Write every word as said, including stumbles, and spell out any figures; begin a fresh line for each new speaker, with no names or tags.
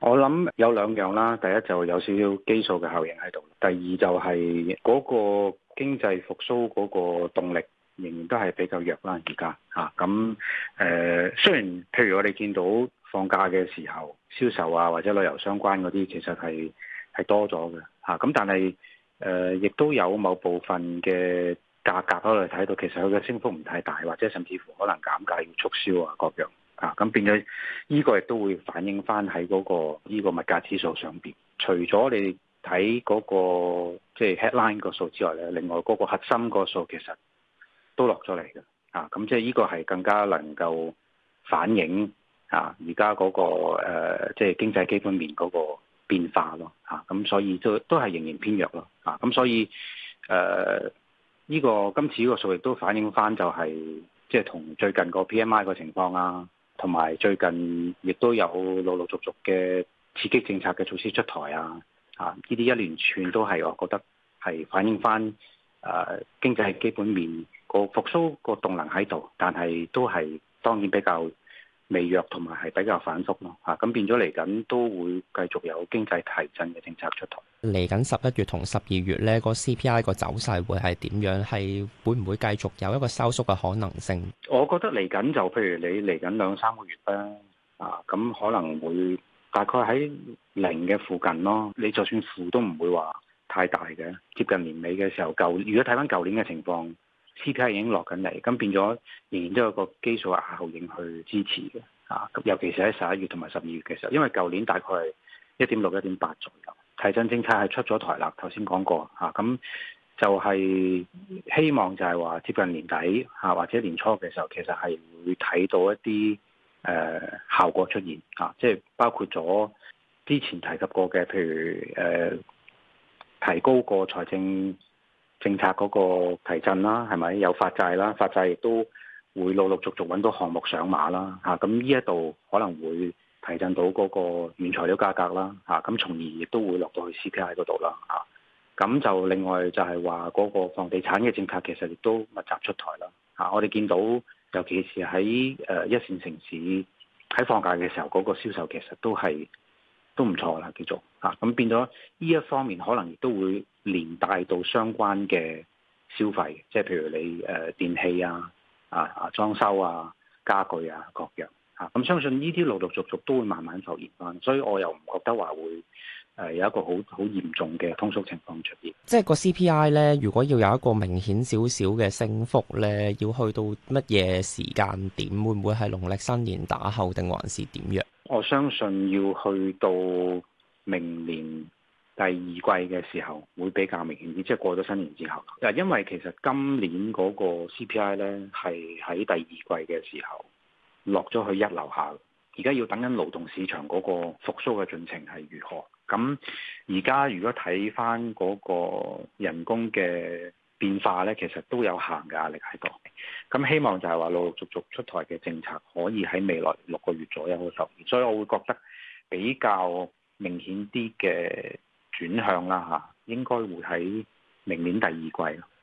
我諗有兩樣啦，第一就有少少基數嘅效應喺度，第二就係嗰個經濟復甦嗰個動力仍然都係比較弱啦，而家嚇咁誒。雖然譬如我哋見到放假嘅時候銷售啊或者旅遊相關嗰啲，其實係係多咗嘅嚇，咁但係誒亦都有某部分嘅價格我哋睇到，其實佢嘅升幅唔太大，或者甚至乎可能減價要促銷啊各樣。啊，咁變咗呢個亦都會反映翻喺嗰個呢個物價指數上邊。除咗你睇嗰個即係 headline 個數之外咧，另外嗰個核心個數其實都落咗嚟嘅。啊，咁即係呢個係更加能夠反映啊而家嗰個誒即係經濟基本面嗰個變化咯。啊，咁所以都都係仍然偏弱咯。啊，咁所以誒呢個今次呢個數亦都反映翻就係即係同最近個 P M I 個情況啊。同埋最近亦都有陸陸續續嘅刺激政策嘅措施出台啊，啊呢啲一連串都係我覺得係反映翻誒、呃、經濟基本面個復甦個動能喺度，但係都係當然比較微弱同埋係比較反覆咯嚇，咁變咗嚟緊都會繼續有經濟提振嘅政策出台。
嚟緊十一月同十二月咧，個 C P I 個走勢會係點樣？係會唔會繼續有一個收縮嘅可能性？
我覺得嚟緊就譬如你嚟緊兩三個月啦，啊咁可能會大概喺零嘅附近咯。你就算負都唔會話太大嘅。接近年尾嘅時候，舊如果睇翻舊年嘅情況，C P I 已經落緊嚟，咁變咗仍然都有個基數效應去支持嘅。啊，尤其是喺十一月同埋十二月嘅時候，因為舊年大概係一點六、一點八左右。提振政策係出咗台啦，頭先講過嚇，咁、啊、就係希望就係話接近年底嚇、啊、或者年初嘅時候，其實係會睇到一啲誒、呃、效果出現嚇、啊，即係包括咗之前提及過嘅，譬如誒、呃、提高個財政政策嗰個提振啦，係咪有發債啦？發債亦都會陸陸續續揾到項目上馬啦嚇，咁呢一度可能會提振到嗰個原材料價格啦，嚇咁，從而亦都會落到去 C P I 嗰度啦，嚇咁就另外就係話嗰個房地產嘅政策其實亦都密集出台啦，嚇我哋見到尤其是喺誒一線城市喺放假嘅時候，嗰個銷售其實都係都唔錯啦，叫做嚇咁變咗呢一方面可能亦都會連帶到相關嘅消費，即係譬如你誒電器啊、啊啊裝修啊、家具啊各樣。咁、嗯、相信呢啲陸陸續續都會慢慢浮現翻，所以我又唔覺得話會誒、呃、有一個好好嚴重嘅通縮情況出現。
即係個 C P I 咧，如果要有一個明顯少少嘅升幅咧，要去到乜嘢時間點？會唔會係農曆新年打後定還是點樣？
我相信要去到明年第二季嘅時候會比較明顯啲，即係過咗新年之後。嗱，因為其實今年嗰個 C P I 咧係喺第二季嘅時候落咗去一樓下，而家要等緊勞動市場嗰個復甦嘅進程係如何？咁而家如果睇翻嗰個人工嘅變化咧，其實都有限嘅壓力喺度。咁希望就係話陸陸續續出台嘅政策可以喺未來六個月左右去實現，所以我會覺得比較明顯啲嘅轉向啦嚇，應該會喺明年第二季咯。